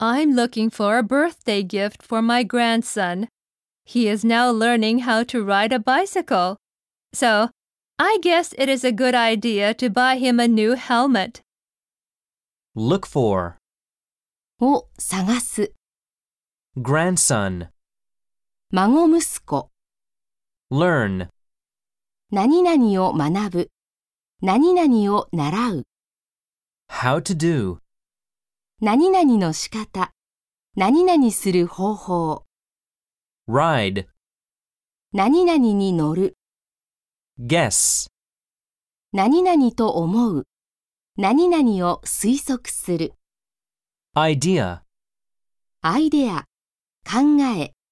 I'm looking for a birthday gift for my grandson. He is now learning how to ride a bicycle. So, I guess it is a good idea to buy him a new helmet. Look for を探す、 grandson, 孫息子、 learn, 何々を学ぶ、何々を習う、 how to do, 何々の仕方、何々する方法、 ride, 何々に乗る、 guess, 何々と思う、何々を推測する、 idea. アイデア、考え、